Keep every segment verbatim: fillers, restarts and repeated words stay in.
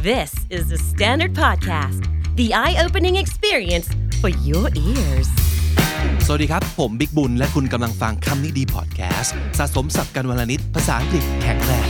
This is the Standard Podcast, the eye-opening experience for your ears. สวัสดีครับผมบิ๊กบุญและคุณกำลังฟังคำนี้ดีพอดแคสต์สะสมศัพท์กันวลนิดภาษาอังกฤษแข็งแรง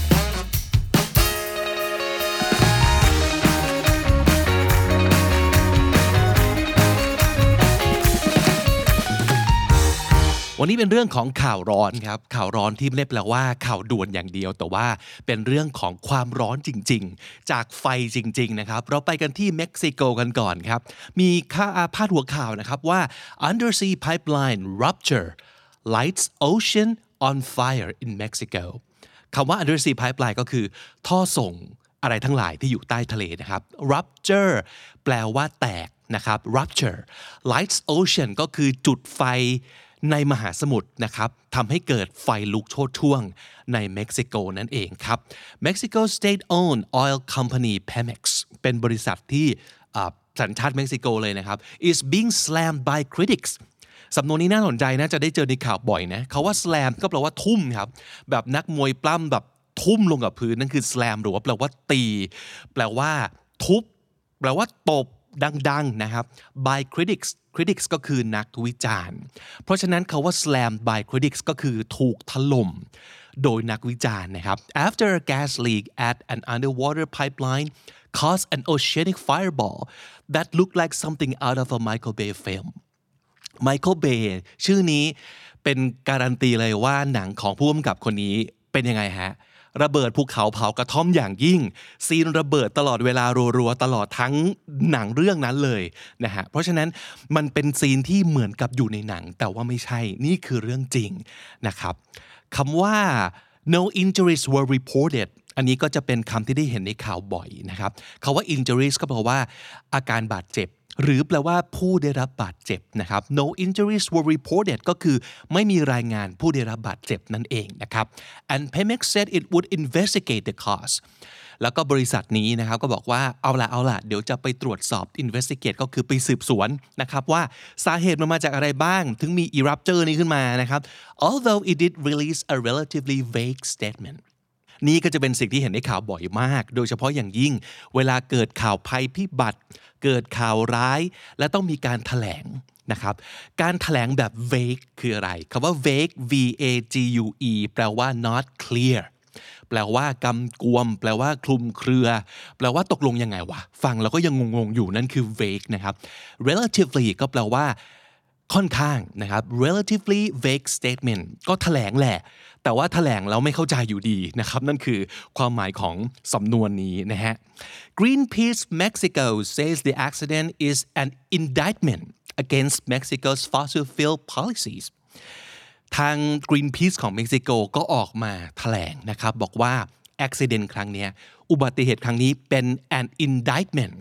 วันนี้เป็นเรื่องของข่าวร้อนครับข่าวร้อนที่ไม่ได้แปลว่าข่าวด่วนอย่างเดียวแต่ว่าเป็นเรื่องของความร้อนจริงๆจากไฟจริงๆนะครับเราไปกันที่เม็กซิโกกันก่อนครับมีข่าวพาดหัวข่าวนะครับว่า undersea pipeline rupture lights ocean on fire in Mexico คำว่า undersea pipeline ก็คือท่อส่งอะไรทั้งหลายที่อยู่ใต้ทะเลนะครับ rupture แปลว่าแตกนะครับ rupture lights ocean ก็คือจุดไฟในมหาสมุทรนะครับทำให้เกิดไฟลุกโชติช่วงในเม็กซิโกนั่นเองครับ Mexico state-owned oil company Pemex เป็นบริษัทที่สัญชาติเม็กซิโกเลยนะครับ is being slammed by critics สำนวนนี้น่าสนใจนะจะได้เจอในข่าวบ่อยนะเขาว่า slam ก็แปลว่าทุ่มครับแบบนักมวยปล้ำแบบทุ่มลงกับพื้นนั่นคือ slam หรือว่าแปลว่าตีแปลว่าทุบแปลว่าตบดังๆนะครับ by critics critics ก็คือนักวิจารณ์เพราะฉะนั้นคาว่า slam by critics ก็คือถูกถล่มโดยนักวิจารณ์นะครับ after a gas leak at an underwater pipeline caused an oceanic fireball that looked like something out of a Michael Bay film Michael Bay ชื่อนี้เป็นการันตีเลยว่าหนังของผู้กำกับคนนี้เป็นยังไงฮะระเบิดภูเขาเผากระท่อมอย่างยิ่งซีนระเบิดตลอดเวลารัวๆตลอดทั้งหนังเรื่องนั้นเลยนะฮะเพราะฉะนั้นมันเป็นซีนที่เหมือนกับอยู่ในหนังแต่ว่าไม่ใช่นี่คือเรื่องจริงนะครับคำว่า no injuries were reported อันนี้ก็จะเป็นคำที่ได้เห็นในข่าวบ่อยนะครับคำว่า injuries ก็แปลว่าอาการบาดเจ็บหรือแปลว่าผู้ได้รับบาดเจ็บนะครับ no injuries were reported ก็คือไม่มีรายงานผู้ได้รับบาดเจ็บนั่นเองนะครับ and Pemex said it would investigate the cause แล้วก็บริษัทนี้นะครับก็บอกว่าเอาล่ะเอาล่ะเดี๋ยวจะไปตรวจสอบ investigate ก็คือไปสืบสวนนะครับว่าสาเหตุมันมาจากอะไรบ้างถึงมี eruption นี้ขึ้นมานะครับ although it did release a relatively vague statementนี่ก็จะเป็นสิ่งที่เห็นในข่าวบ่อยมากโดยเฉพาะอย่างยิ่งเวลาเกิดข่าวภัยพิบัติเกิดข่าวร้ายและต้องมีการแถลงนะครับการแถลงแบบ vague คืออะไรคำว่า vague v a g u e แปลว่า not clear แปลว่ากำกวมแปลว่าคลุมเครือแปลว่าตกลงยังไงวะฟังแล้วก็ยังงงๆอยู่นั่นคือ vague นะครับ relatively ก็แปลว่าค่อนข้างนะครับ relatively vague statement ก็แถลงแหละแต่ว่าแถลงแล้วไม่เข้าใจอยู่ดีนะครับนั่นคือความหมายของสำนวนนี้นะฮะ Greenpeace Mexico says the accident is an indictment against Mexico's fossil fuel policies ทาง Greenpeace ของเม็กซิโกก็ออกมาแถลงนะครับบอกว่า accident ครั้งนี้อุบัติเหตุครั้งนี้เป็น an indictment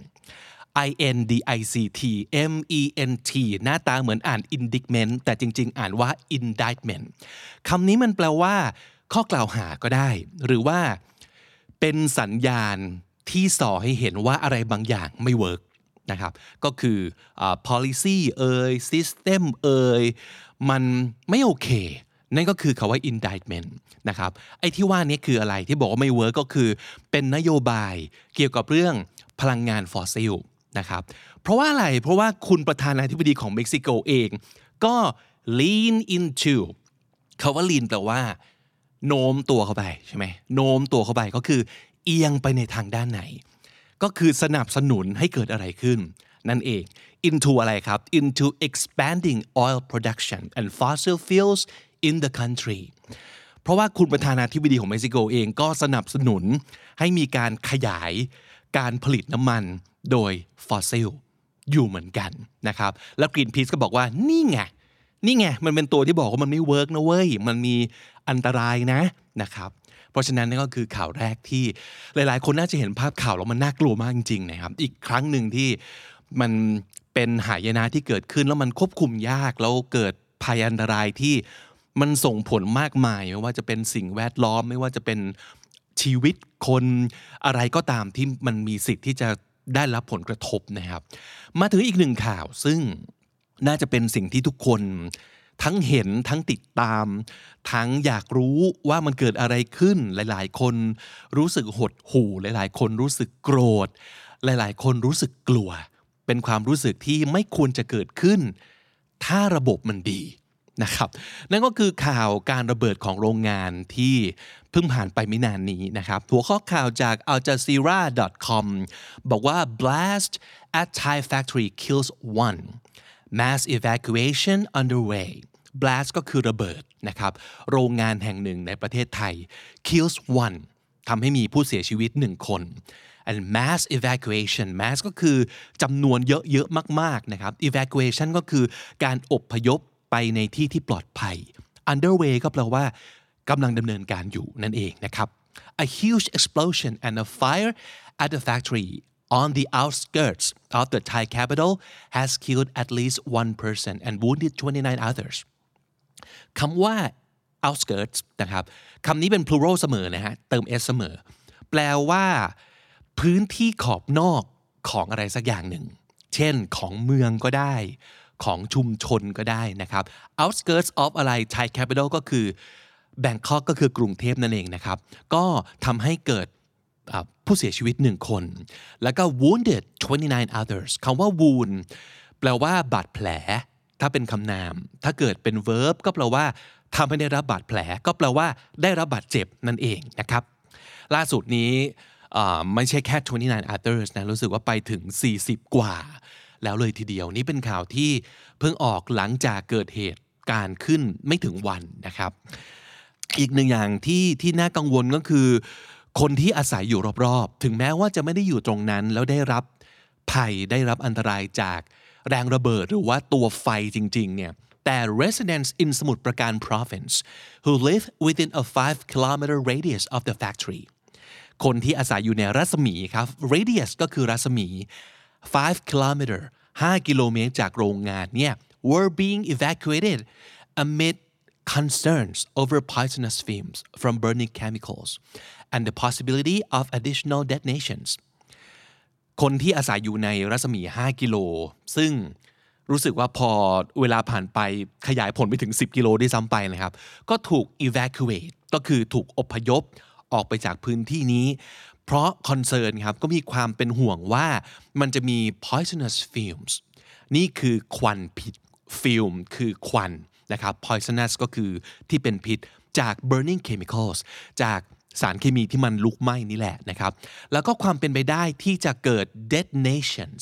I N D I C T M E N T หน้าตาเหมือนอ่าน indictment แต่จริงๆอ่านว่า indictment คำนี้มันแปลว่าข้อกล่าวหาก็ได้หรือว่าเป็นสัญญาณที่ส่อให้เห็นว่าอะไรบางอย่างไม่เวิร์กนะครับก็คือ uh, policy เอ่ย system เอ่ยมันไม่โอเคนั่นก็คือคำว่า indictment นะครับไอ้ที่ว่านี้คืออะไรที่บอกว่าไม่เวิร์กก็คือเป็นนโยบายเกี่ยวกับเรื่องพลังงานฟอสซิลนะครับเพราะว่าอะไรเพราะว่าคุณประธานาธิบดีของเม็กซิโกเองก็ lean into คำว่า lean แปลว่าโน้มตัวเข้าไปใช่ไหมโน้มตัวเข้าไปก็คือเอียงไปในทางด้านไหนก็คือสนับสนุนให้เกิดอะไรขึ้นนั่นเอง into อะไรครับ into expanding oil production and fossil fuels in the country เพราะว่าคุณประธานาธิบดีของเม็กซิโกเองก็สนับสนุนให้มีการขยายการผลิตน้ำมันโดยฟอสซิลอยู่เหมือนกันนะครับแล้ว Greenpeace ก็บอกว่านี่ไงนี่ไงมันเป็นตัวที่บอกว่ามันไม่เวิร์กนะเว้ยมันมีอันตรายนะนะครับเพราะฉะนั้นนั่นก็คือข่าวแรกที่หลายๆคนน่าจะเห็นภาพข่าวแล้วมันน่ากลัวมากจริงๆนะครับอีกครั้งหนึ่งที่มันเป็นหายนะที่เกิดขึ้นแล้วมันควบคุมยากแล้วเกิดภัยอันตรายที่มันส่งผลมากมายไม่ว่าจะเป็นสิ่งแวดล้อมไม่ว่าจะเป็นชีวิตคนอะไรก็ตามที่มันมีสิทธิ์ที่จะได้รับผลกระทบนะครับมาถึงอีกหนึ่งข่าวซึ่งน่าจะเป็นสิ่งที่ทุกคนทั้งเห็นทั้งติดตามทั้งอยากรู้ว่ามันเกิดอะไรขึ้นหลายๆคนรู้สึกหดหู่หลายๆคนรู้สึกโกรธหลายๆคนรู้สึกกลัวเป็นความรู้สึกที่ไม่ควรจะเกิดขึ้นถ้าระบบมันดีนะครับนั่นก็คือข่าวการระเบิดของโรงงานที่เพิ่งผ่านไปไม่นานนี้นะครับหัวข้อข่าวจาก al jazeera dot com บอกว่า blast at Thai factory kills one mass evacuation underway blast ก็คือระเบิดนะครับโรงงานแห่งหนึ่งในประเทศไทย kills one ทำให้มีผู้เสียชีวิตหนึ่งคน and mass evacuation mass ก็คือจำนวนเยอะๆมากๆนะครับ evacuation ก็คือการอพยพไปในที่ที่ปลอดภัย underway ก็แปลว่ากำลังดำเนินการอยู่นั่นเองนะครับ a huge explosion and a fire at the factory on the outskirts of the Thai capital has killed at least one person and wounded twenty-nine others คำว่า outskirts นะครับคำนี้เป็น plural เสมอนะฮะเติม s เสมอแปลว่าพื้นที่ขอบนอกของอะไรสักอย่างหนึ่งเช่นของเมืองก็ได้ของชุมชนก็ได้นะครับ outskirts of อะไร Thai capital ก็คือ Bangkok ก็คือกรุงเทพนั่นเองนะครับก็ทำให้เกิดผู้เสียชีวิตหนึ่งคนแล้วก็ wounded twenty-nine others คำว่า wound แปลว่าบาดแผลถ้าเป็นคำนามถ้าเกิดเป็น verb ก็แปลว่าทำให้ได้รับบาดแผลก็แปลว่าได้รับบาดเจ็บนั่นเองนะครับล่าสุดนี้ไม่ใช่แค่twenty-nine others นะรู้สึกว่าไปถึงสี่สิบกว่าแล้วเลยทีเดียวนี่เป็นข่าวที่เพิ่งออกหลังจากเกิดเหตุการณ์ขึ้นไม่ถึงวันนะครับอีกหนึ่งอย่างที่ที่น่ากังวลก็คือคนที่อาศัยอยู่รอบๆถึงแม้ว่าจะไม่ได้อยู่ตรงนั้นแล้วได้รับภัยได้รับอันตรายจากแรงระเบิดหรือว่าตัวไฟจริงๆเนี่ยแต่ residents in สมุทรปราการ province who live within a five kilometer radius of the factory คนที่อาศัยอยู่ในรัศมีครับ radius ก็คือรัศมีfive kilometerห้ากิโลเมตรจากโรงงานเนี่ย were being evacuated amid concerns over poisonous fumes from burning chemicals and the possibility of additional detonations คนที่อาศัยอยู่ในรัศมีห้ากิโลซึ่งรู้สึกว่าพอเวลาผ่านไปขยายผลไปถึงสิบกิโลได้ซ้ำไปนะครับก็ถูก evacuate ก็คือถูกอพยพออกไปจากพื้นที่นี้เพราะคอนเซิร์นครับก็มีความเป็นห่วงว่ามันจะมี poisonous fumes นี่คือควันพิษ fume คือควันนะครับ poisonous ก็คือที่เป็นพิษจาก burning chemicals จากสารเคมีที่มันลุกไหม้นี่แหละนะครับแล้วก็ความเป็นไปได้ที่จะเกิด detonations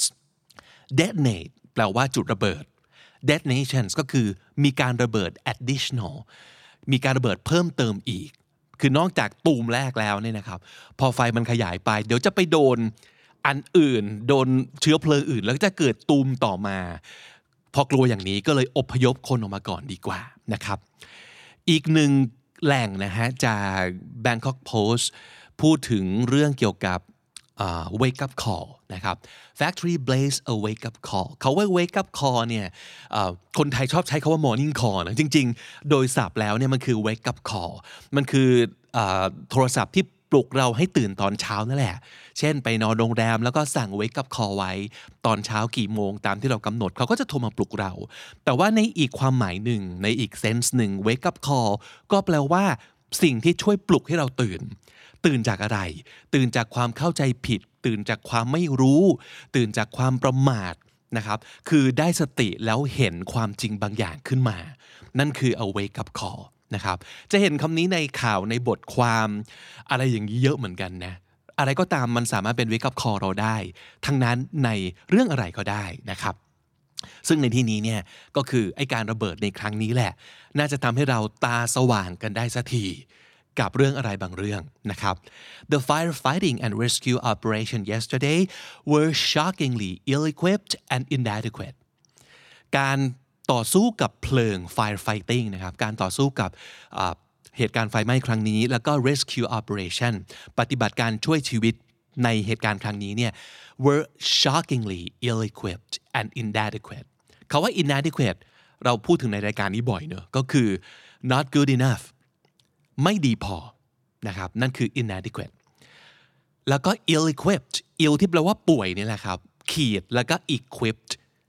detonate แปลว่าจุดระเบิด detonations ก็คือมีการระเบิด additional มีการระเบิดเพิ่มเติมอีกคือนอกจากตูมแรกแล้วเนี่ยนะครับพอไฟมันขยายไปเดี๋ยวจะไปโดนอันอื่นโดนเชื้อเพลิงอื่นแล้วก็จะเกิดตูมต่อมาพอกลัวอย่างนี้ก็เลยอพยพคนออกมาก่อนดีกว่านะครับอีกหนึ่งแหล่งนะฮะจาก Bangkok Post พูดถึงเรื่องเกี่ยวกับ uh, wake up call นะครับ Factory blaze a wake up call เขาว่า wake up call เนี่ย uh, คนไทยชอบใช้คาว่า morning call นะจริงๆโดยศัพท์แล้วเนี่ยมันคือ wake up call มันคือ uh, โทรศัพท์ที่ปลุกเราให้ตื่นตอนเช้านั่นแหละเช่นไปนอนโรงแรมแล้วก็สั่ง wake up call ไว้ตอนเช้ากี่โมงตามที่เรากำหนดเขาก็จะโทรมาปลุกเราแต่ว่าในอีกความหมายหนึ่งในอีกเซนส์หนึ่ง wake up call ก็แปลว่าสิ่งที่ช่วยปลุกให้เราตื่นตื่นจากอะไรตื่นจากความเข้าใจผิดตื่นจากความไม่รู้ตื่นจากความประมาทนะครับคือได้สติแล้วเห็นความจริงบางอย่างขึ้นมานั่นคือ a wake up callนะครับจะเห็นคำนี้ในข่าวในบทความอะไรอย่างนี้เยอะเหมือนกันนะอะไรก็ตามมันสามารถเป็น wake up call เราได้ทั้งนั้นในเรื่องอะไรก็ได้นะครับซึ่งในที่นี้เนี่ยก็คือไอ้การระเบิดในครั้งนี้แหละน่าจะทำให้เราตาสว่างกันได้สักทีกับเรื่องอะไรบางเรื่องนะครับ The firefighting and rescue operation yesterday were shockingly ill-equipped and inadequate การต่อสู้กับเพลิง firefighting นะครับการต่อสู้กับเหตุการณ์ไฟไหม้ครั้งนี้แล้วก็ rescue operation ปฏิบัติการช่วยชีวิตในเหตุการณ์ครั้งนี้เนี่ย were shockingly ill-equipped and inadequate คำว่า inadequate เราพูดถึงในรายการนี้บ่อยเนอะก็คือ not good enough ไม่ดีพอนะครับนั่นคือ inadequate แล้วก็ ill-equipped ill ที่แปลว่าป่วยนี่แหละครับขีดแล้วก็ equipped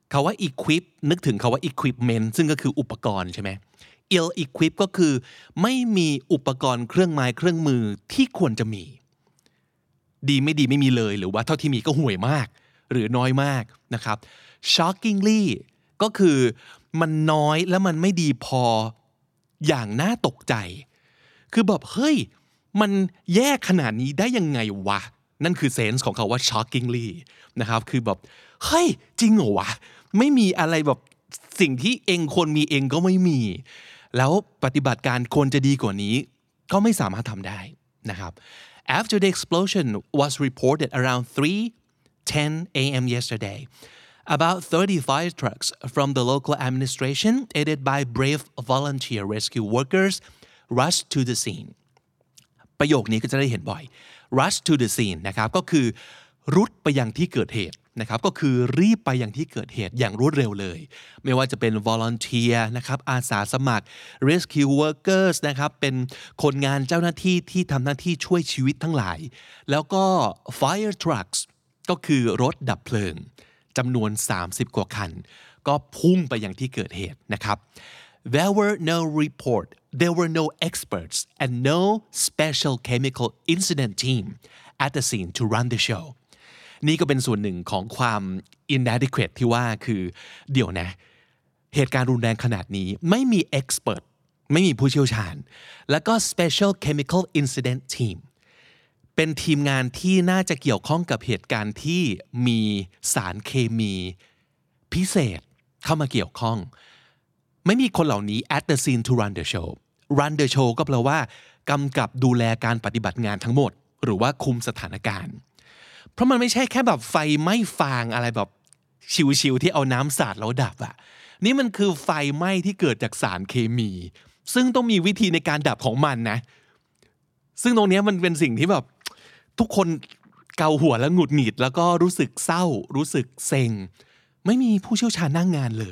คาว่า equip นึกถึงคาว่า equipment ซึ่งก็คืออุปกรณ์ใช่ไหม ill equip ก็คือไม่มีอุปกรณ์เครื่องไม้เครื่องมือที่ควรจะมีดีไม่ดีไม่มีเลยหรือว่าเท่าที่มีก็ห่วยมากหรือน้อยมากนะครับ shockingly ก็คือมันน้อยและมันไม่ดีพออย่างน่าตกใจคือแบบเฮ้ยมันแย่ขนาดนี้ได้ยังไงวะนั่นคือเซนส์ของเขาว่า shockingly นะครับคือแบบเฮ้ยจริงเหรอวะไม่มีอะไรแบบสิ่งที่เองควรมีเองก็ไม่มีแล้วปฏิบัติการควรจะดีกว่านี้ก็ไม่สามารถทำได้นะครับ After the explosion was reported around three ten a.m. yesterday, about thirty fire trucks from the local administration, aided by brave volunteer rescue workers, rushed to the scene. ประโยคนี้ก็จะได้เห็นบ่อย rush to the scene นะครับก็คือรุดไปยังที่เกิดเหตุนะครับก็คือรีบไปยังที่เกิดเหตุอย่างรวดเร็วเลยไม่ว่าจะเป็น volunteer นะครับอาสาสมัคร rescue workers นะครับเป็นคนงานเจ้าหน้าที่ที่ทำหน้าที่ช่วยชีวิตทั้งหลายแล้วก็ fire trucks ก็คือรถดับเพลิงจำนวนสามสิบกว่าคันก็พุ่งไปยังที่เกิดเหตุนะครับ There were no report there were no experts and no special chemical incident team at the scene to run the show นี่ก็เป็นส่วนหนึ่งของความ inadequate ที่ว่าคือเดี๋ยวนะเหตุการณ์รุนแรงขนาดนี้ไม่มี expert ไม่มีผู้เชี่ยวชาญแล้วก็ special chemical incident team เป็นทีมงานที่น่าจะเกี่ยวข้องกับเหตุการณ์ที่มีสารเคมีพิเศษเข้ามาเกี่ยวข้องไม่มีคนเหล่านี้ at the scene to run the show run the show ก็แปลว่ากำกับดูแลการปฏิบัติงานทั้งหมดหรือว่าคุมสถานการณ์เพราะมันไม่ใช่แค่แบบไฟไหม้ฟางอะไรแบบชิวๆที่เอาน้ำสาดแล้วดับอะนี่มันคือไฟไหม้ที่เกิดจากสารเคมีซึ่งต้องมีวิธีในการดับของมันนะซึ่งตรงนี้มันเป็นสิ่งที่แบบทุกคนเกาหัวแล้วหงุดหงิดแล้วก็รู้สึกเศร้ารู้สึกเซ็งไม่มีผู้เชี่ยวชาญนั่งงานเลย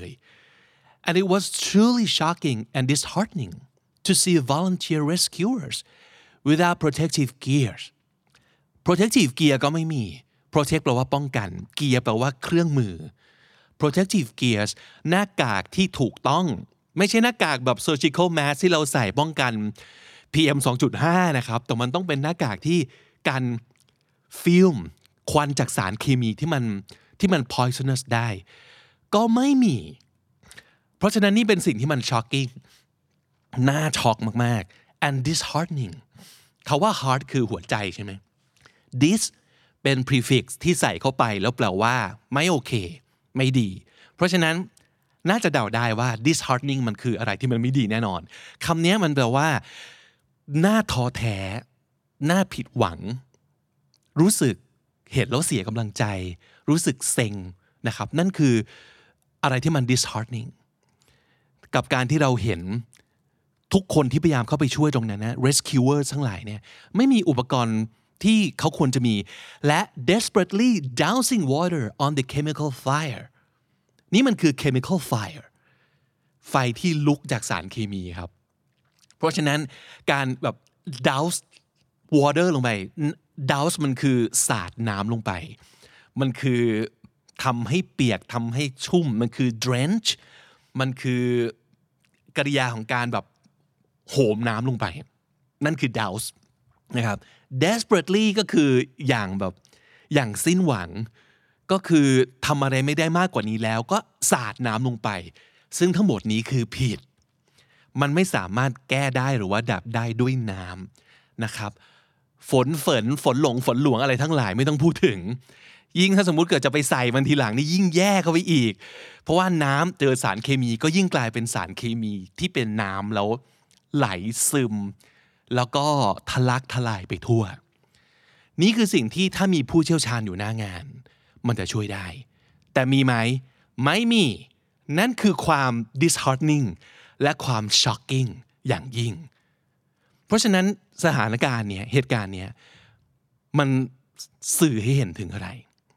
and it was truly shocking and disheartening to see volunteer rescuers without protective gears protective gear ก็ไม่มี protect แปลว่าป้องกัน gear แปลว่าเครื่องมือ protective gears หน้ากากที่ถูกต้องไม่ใช่หน้ากากแบบ surgical mask ที่เราใส่ป้องกัน พี เอ็ม สองจุดห้า นะครับแต่มันต้องเป็นหน้ากากที่กันฟิล์มควันจากสารเคมีที่มันที่มัน poisonous ได้ก็ไม่มีเพราะฉะนั้นนี่เป็นสิ่งที่มัน shocking น่าช็อกมากๆ and disheartening คาว่า heart คือหัวใจใช่ไหม this เป็น prefix ที่ใส่เข้าไปแล้วแปลว่าไม่โอเคไม่ดีเพราะฉะนั้นน่าจะเดาได้ว่า disheartening มันคืออะไรที่มันไม่ดีแน่นอนคำนี้มันแปลว่าน่าท้อแท้น่าผิดหวังรู้สึกเห็นแล้วเสียกำลังใจรู้สึกเซ็งนะครับนั่นคืออะไรที่มัน disheartening กับการที่เราเห็นทุกคนที่พยายามเข้าไปช่วยตรงนั้นนะ rescuer ทั้งหลายเนี่ยไม่มีอุปกรณ์ที่เขาควรจะมีและ desperately dousing water on the chemical fire นี่มันคือ chemical fire ไฟที่ลุกจากสารเคมีครับเพราะฉะนั้นการแบบ douse water ลงไป douse มันคือสาดน้ำลงไปมันคือทำให้เปียกทำให้ชุ่มมันคือ drench มันคือกริยาของการแบบโหมน้ำลงไปนั่นคือ douse นะครับ desperately ก็คืออย่างแบบอย่างสิ้นหวังก็คือทำอะไรไม่ได้มากกว่านี้แล้วก็สาดน้ำลงไปซึ่งทั้งหมดนี้คือผิดมันไม่สามารถแก้ได้หรือว่าดับได้ด้วยน้ำนะครับฝนฝนฝนหลงฝนหลวงอะไรทั้งหลายไม่ต้องพูดถึงยิ่งถ้าสมมุติเกิดจะไปใส่มันทีหลังนี่ยิ่งแย่เข้าไปอีกเพราะว่าน้ำเจอสารเคมีก็ยิ่งกลายเป็นสารเคมีที่เป็นน้ำแล้วไหลซึมแล้วก็ทะลักทลายไปทั่วนี่คือสิ่งที่ถ้ามีผู้เชี่ยวชาญอยู่หน้างานมันจะช่วยได้แต่มีไหมไม่มีนั่นคือความ disheartening และความ shocking อย่างยิ่งเพราะฉะนั้นสถานการณ์เนี้ยเหตุการณ์เนี้ยมันสื่อให้เห็นถึงอะไร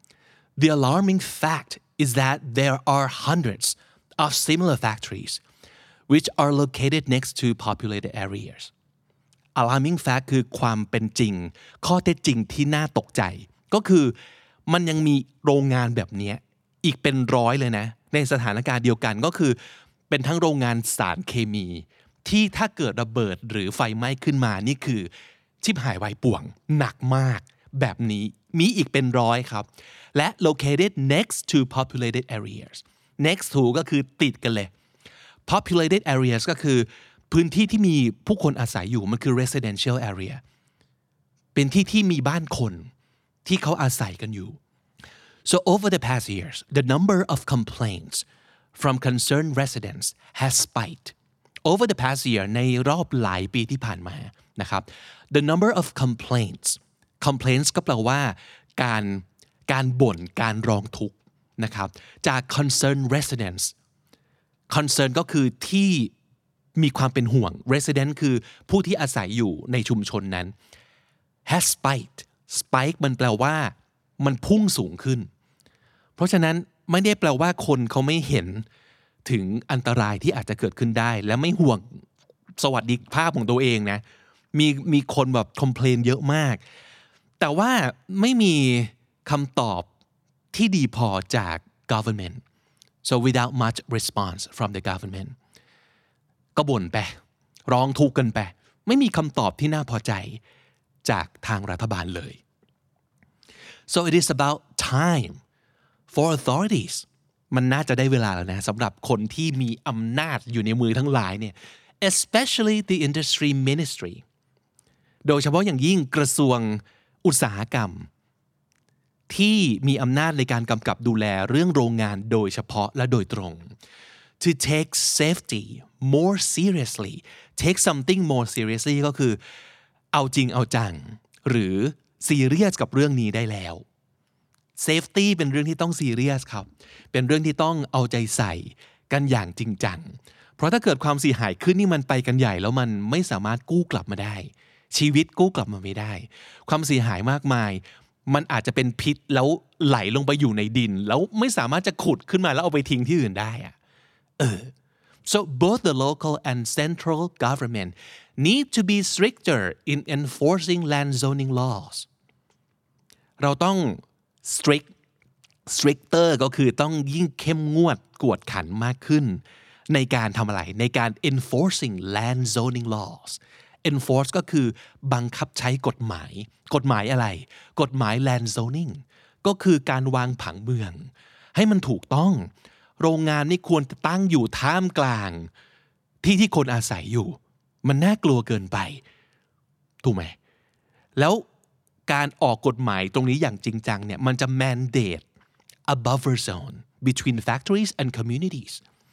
The alarming fact is that there are hundreds of similar factories which are located next to populated areas alarming fact คือความเป็นจริงข้อเท็จจริงที่น่าตกใจก็คือมันยังมีโรงงานแบบนี้อีกเป็นร้อยเลยนะในสถานการณ์เดียวกันก็คือเป็นทั้งโรงงานสารเคมีที่ถ้าเกิดระเบิดหรือไฟไหม้ขึ้นมานี่คือชิบหายวายป่วงหนักมากแบบนี้มีอีกเป็นร้อยครับและ located next to populated areas next to ก็คือติดกันเลย populated areas ก็คือพื้นที่ที่มีผู้คนอาศัยอยู่มันคือ residential area เป็นที่ที่มีบ้านคนที่เขาอาศัยกันอยู่ so over the past years the number of complaints from concerned residents has spiked over the past year ในรอบหลายปีที่ผ่านมานะครับ the number of complaints complaints ก็แปลว่าการการบ่นการร้องทุกข์นะครับจาก concerned residents concern ก็คือที่มีความเป็นห่วง resident คือผู้ที่อาศัยอยู่ในชุมชนนั้น has spiked spike มันแปลว่ามันพุ่งสูงขึ้นเพราะฉะนั้นไม่ได้แปลว่าคนเขาไม่เห็นถึงอันตรายที่อาจจะเกิดขึ้นได้และไม่ห่วงสวัสดิภาพของตัวเองนะมีมีคนแบบ complain เยอะมากแต่ว่าไม่มีคำตอบที่ดีพอจาก government so without much response from the government ก็บ่นไปร้องทุกข์กันไปไม่มีคำตอบที่น่าพอใจจากทางรัฐบาลเลย so it is about time for authorities มันน่าจะได้เวลาแล้วนะสำหรับคนที่มีอำนาจอยู่ในมือทั้งหลายเนี่ย especially the industry ministry โดยเฉพาะอย่างยิ่งกระทรวงอุตสาหกรรมที่มีอำนาจในการกำกับดูแลเรื่องโรงงานโดยเฉพาะและโดยตรง to take safety more seriously take something more seriously ก็คือเอาจริงเอาจังหรือซีเรียสกับเรื่องนี้ได้แล้ว safety เป็นเรื่องที่ต้องซีเรียสครับเป็นเรื่องที่ต้องเอาใจใส่กันอย่างจริงจังเพราะถ้าเกิดความเสียหายขึ้นนี่มันไปกันใหญ่แล้วมันไม่สามารถกู้กลับมาได้ชีวิตกู้กลับมาไม่ได้ความเสียหายมากมายมันอาจจะเป็นพิษแล้วไหลลงไปอยู่ในดินแล้วไม่สามารถจะขุดขึ้นมาแล้วเอาไปทิ้งที่อื่นได้อะเออ so both the local and central government need to be stricter in enforcing land zoning laws เราต้อง strict stricter ก็คือต้องยิ่งเข้มงวดกวดขันมากขึ้นในการทำอะไรในการ enforcing land zoning laws enforce ก็คือบังคับใช้กฎหมายกฎหมายอะไรกฎหมาย land zoning ก็คือการวางผังเมืองให้มันถูกต้องโรงงานนี่ควรจะตั้งอยู่ท่ามกลางที่ที่คนอาศัยอยู่มันน่ากลัวเกินไปถูกไหมแล้วการออกกฎหมายตรงนี้อย่างจริงจังเนี่ยมันจะ mandate a buffer zone between factories and communities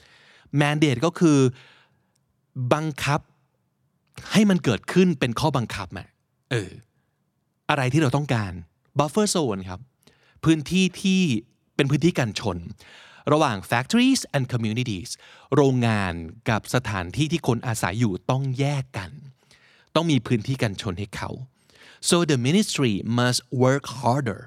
mandate ก็คือบังคับให้มันเกิดขึ้นเป็นข้อบังคับอะเอออะไรที่เราต้องการ buffer zone ครับพื้นที่ที่เป็นพื้นที่กันชนระหว่าง factories and communities โรงงานกับสถานที่ที่คนอาศัยอยู่ต้องแยกกันต้องมีพื้นที่กันชนให้เขา so the ministry must work harder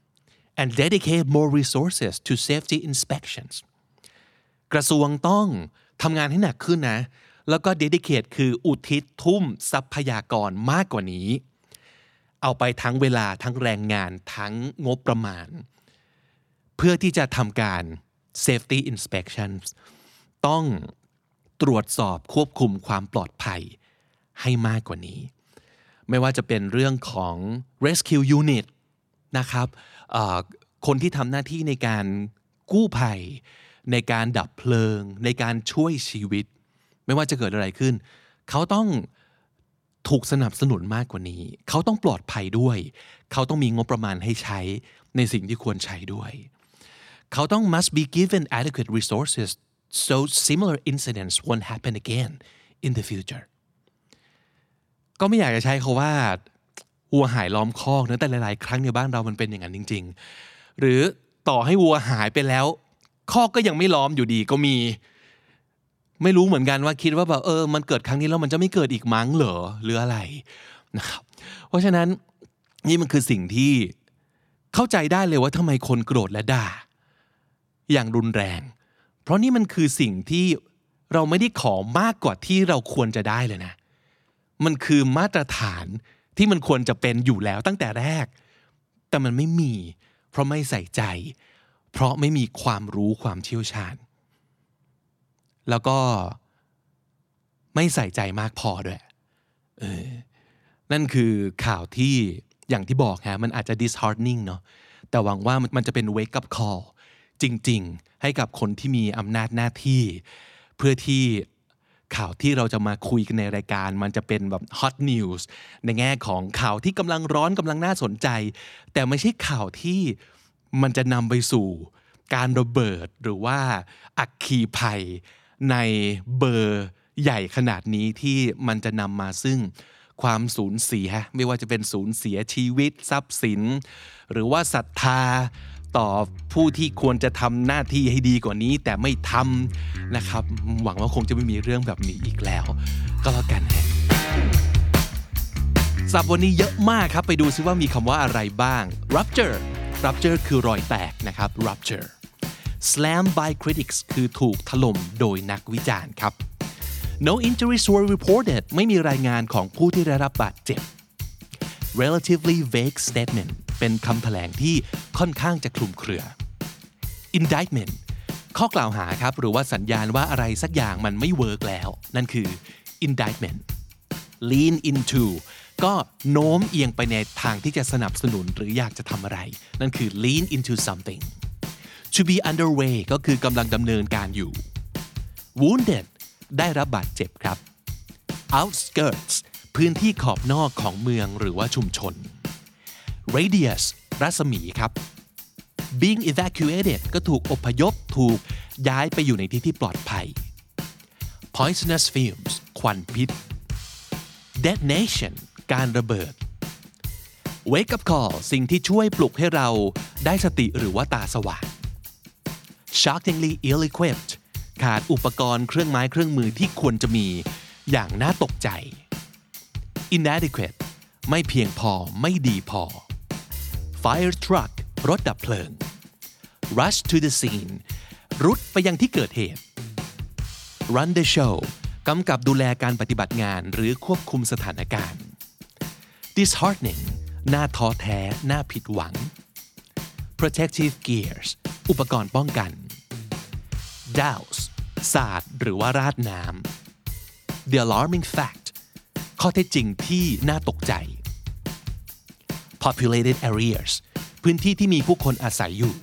and dedicate more resources to safety inspections กระทรวงต้องทำงานให้หนักขึ้นนะแล้วก็ dedicate คืออุทิศทุ่มทรัพยากรมากกว่านี้เอาไปทั้งเวลาทั้งแรงงานทั้งงบประมาณเพื่อที่จะทำการ safety inspections ต้องตรวจสอบควบคุมความปลอดภัยให้มากกว่านี้ไม่ว่าจะเป็นเรื่องของ rescue unit นะครับคนที่ทำหน้าที่ในการกู้ภัยในการดับเพลิงในการช่วยชีวิตไม่ว่าจะเกิดอะไรขึ้นเขาต้องถูกสนับสนุนมากกว่านี้เขาต้องปลอดภัยด้วยเขาต้องมีงบประมาณให้ใช้ในสิ่งที่ควรใช้ด้วยเขาต้อง must be given adequate resources so similar incidents won't happen again in the future ก็ไม่อยากจะใช้คำว่าวัวหายล้อมคอกนะแต่หลายๆครั้งในบ้านเรามันเป็นอย่างนั้นจริงๆหรือต่อให้วัวหายไปแล้วคอกก็ยังไม่ล้อมอยู่ดีก็มีไม่รู้เหมือนกันว่าคิดว่าแบบเออมันเกิดครั้งนี้แล้วมันจะไม่เกิดอีกมั้งเหรอหรืออะไรนะครับเพราะฉะนั้นนี่มันคือสิ่งที่เข้าใจได้เลยว่าทำไมคนโกรธและด่าอย่างรุนแรงเพราะนี่มันคือสิ่งที่เราไม่ได้ขอมากกว่าที่เราควรจะได้เลยนะมันคือมาตรฐานที่มันควรจะเป็นอยู่แล้วตั้งแต่แรกแต่มันไม่มีเพราะไม่ใส่ใจเพราะไม่มีความรู้ความเชี่ยวชาญแล้วก็ไม่ใส่ใจมากพอด้วยเออนั่นคือข่าวที่อย่างที่บอกฮะมันอาจจะ disheartening เนาะแต่หวังว่ามันจะเป็น wake up call จริงๆให้กับคนที่มีอำนาจหน้าที่เพื่อที่ข่าวที่เราจะมาคุยกันในรายการมันจะเป็นแบบ hot news ในแง่ของข่าวที่กำลังร้อนกำลังน่าสนใจแต่ไม่ใช่ข่าวที่มันจะนำไปสู่การระเบิดหรือว่าอัคคีภัยในเบอร์ใหญ่ขนาดนี้ที่มันจะนำมาซึ่งความสูญเสียไม่ว่าจะเป็นสูญเสียชีวิตทรัพย์สินหรือว่าศรัทธาต่อผู้ที่ควรจะทำหน้าที่ให้ดีกว่านี้แต่ไม่ทำนะครับหวังว่าคงจะไม่มีเรื่องแบบนี้อีกแล้วก็แล้วกันฮะศัพท์วันนี้เยอะมากครับไปดูซิว่ามีคำว่าอะไรบ้าง rupture rupture คือรอยแตกนะครับ rupture slam by critics คือถูกถล่มโดยนักวิจารณ์ครับ no injuries were reported ไม่มีรายงานของผู้ที่ได้รับบาดเจ็บ relatively vague statement เป็นคำแถลงที่ค่อนข้างจะคลุมเครือ indictment ข้อกล่าวหาครับหรือว่าสัญญาณว่าอะไรสักอย่างมันไม่เวิร์กแล้วนั่นคือ indictment lean into ก็โน้มเอียงไปในทางที่จะสนับสนุนหรืออยากจะทำอะไรนั่นคือ lean into something to be underway ก็คือกำลังดำเนินการอยู่ wounded ได้รับบาดเจ็บครับ outskirts พื้นที่ขอบนอกของเมืองหรือว่าชุมชน radius รัศมีครับ being evacuated ก็ถูกอพยพถูกย้ายไปอยู่ในที่ที่ปลอดภัย poisonous fumes ควันพิษ detonation การระเบิด wake up call สิ่งที่ช่วยปลุกให้เราได้สติหรือว่าตาสว่าง shockingly ill-equipped ขาดอุปกรณ์เครื่องไม้เครื่องมือที่ควรจะมีอย่างน่าตกใจ inadequate ไม่เพียงพอไม่ดีพอ fire truck รถดับเพลิง rush to the scene รุดไปยังที่เกิดเหตุ run the show กำกับดูแลการปฏิบัติงานหรือควบคุมสถานการณ์ disheartening น่าท้อแท้น่าผิดหวัง protective gears อุปกรณ์ป้องกัน douse สาดหรือว่าราดน้ำ the alarming fact ข้อเท็จจริงที่น่าตกใจ populated areas พื้นที่ที่มีผู้คนอาศัยอยู่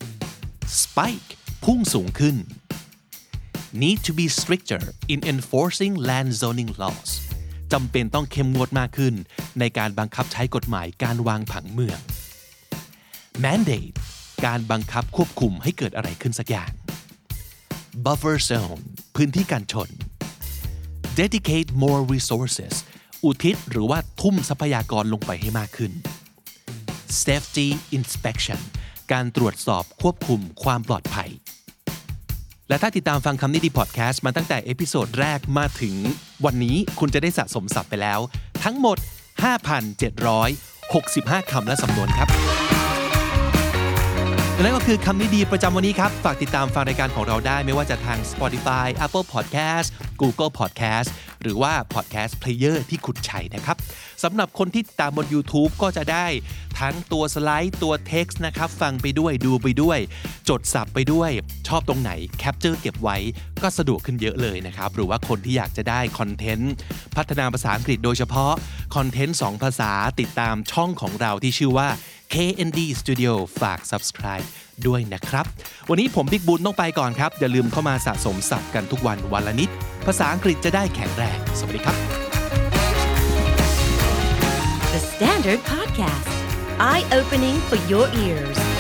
spike พุ่งสูงขึ้น need to be stricter in enforcing land zoning laws จำเป็นต้องเข้มงวดมากขึ้นในการบังคับใช้กฎหมายการวางผังเมือง mandate การบังคับควบคุมให้เกิดอะไรขึ้นสักอย่าง buffer zone พื้นที่การชน dedicate more resources อุทิศหรือว่าทุ่มทรัพยากรลงไปให้มากขึ้น safety inspection การตรวจสอบควบคุมความปลอดภัยและถ้าติดตามฟังคำนี้ดีพอดแคสต์มาตั้งแต่เอพิโซดแรกมาถึงวันนี้คุณจะได้สะสมศัพท์ไปแล้วทั้งหมด ห้าพันเจ็ดร้อยหกสิบห้า คำและสำนวนครับและนั่นก็คือคำนี้ดีประจำวันนี้ครับฝากติดตามฟังรายการของเราได้ไม่ว่าจะทาง Spotify Apple Podcast Google Podcast หรือว่า Podcast Player ที่คุณใช้นะครับสำหรับคนที่ติดตามบน YouTube ก็จะได้ทั้งตัวสไลด์ตัว text นะครับฟังไปด้วยดูไปด้วยจดศัพท์ไปด้วยชอบตรงไหนแคปเจอร์เก็บไว้ก็สะดวกขึ้นเยอะเลยนะครับหรือว่าคนที่อยากจะได้คอนเทนต์พัฒนาภาษาอังกฤษโดยเฉพาะคอนเทนต์สองภาษาติดตามช่องของเราที่ชื่อว่า เค เอ็น ดี Studio ฝาก Subscribe ด้วยนะครับวันนี้ผมบิ๊กบุญต้องไปก่อนครับอย่าลืมเข้ามาสะสมศัพท์กันทุกวันวันละนิดภาษาอังกฤษจะได้แข็งแรงสวัสดีครับ The Standard Podcast Eye Opening for Your Ears